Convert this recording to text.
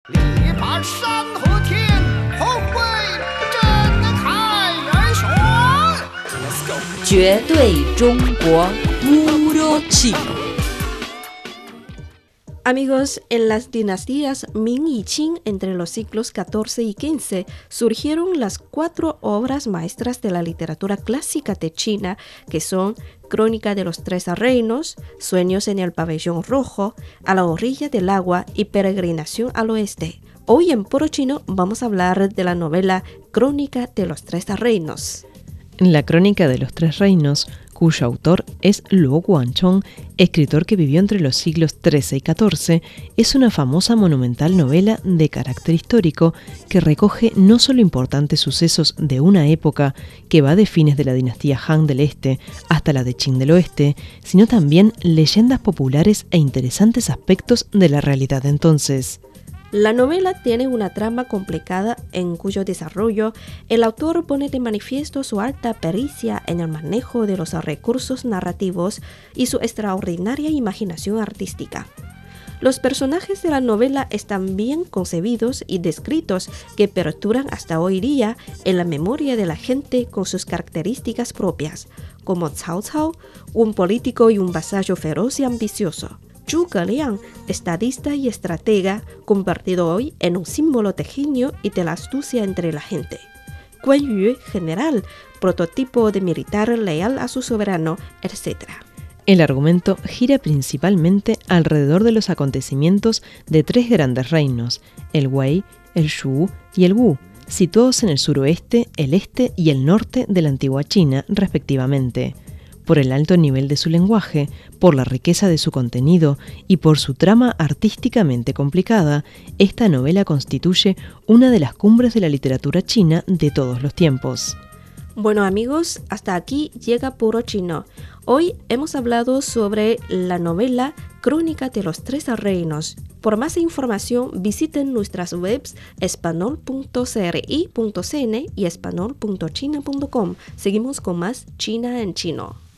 力拔山河天，后会震开元雄。Let's go， 绝对中国。 Puro chino. Amigos, en las dinastías Ming y Qing entre los siglos XIV y XV surgieron las 4 obras maestras de la literatura clásica de China, que son Crónica de los Tres Reinos, Sueños en el Pabellón Rojo, A la orilla del agua y Peregrinación al oeste. Hoy en Puro Chino vamos a hablar de la novela Crónica de los Tres Reinos. La Crónica de los Tres Reinos, cuyo autor es Luo Guanchong, escritor que vivió entre los siglos XIII y XIV, es una famosa monumental novela de carácter histórico que recoge no solo importantes sucesos de una época que va de fines de la dinastía Han del Este hasta la de Qing del Oeste, sino también leyendas populares e interesantes aspectos de la realidad de entonces. La novela tiene una trama complicada en cuyo desarrollo el autor pone de manifiesto su alta pericia en el manejo de los recursos narrativos y su extraordinaria imaginación artística. Los personajes de la novela están bien concebidos y descritos que perduran hasta hoy día en la memoria de la gente con sus características propias, como Cao Cao, un político y un vasallo feroz y ambicioso. Zhuge Liang, estadista y estratega, convertido hoy en un símbolo de genio y de la astucia entre la gente. Guan Yu, general, prototipo de militar leal a su soberano, etc. El argumento gira principalmente alrededor de los acontecimientos de 3 grandes reinos, el Wei, el Shu y el Wu, situados en el suroeste, el este y el norte de la antigua China, respectivamente. Por el alto nivel de su lenguaje, por la riqueza de su contenido y por su trama artísticamente complicada, esta novela constituye una de las cumbres de la literatura china de todos los tiempos. Bueno amigos, hasta aquí llega Puro Chino. Hoy hemos hablado sobre la novela Crónica de los Tres Reinos. Por más información visiten nuestras webs espanol.cri.cn y espanol.china.com. Seguimos con más China en chino.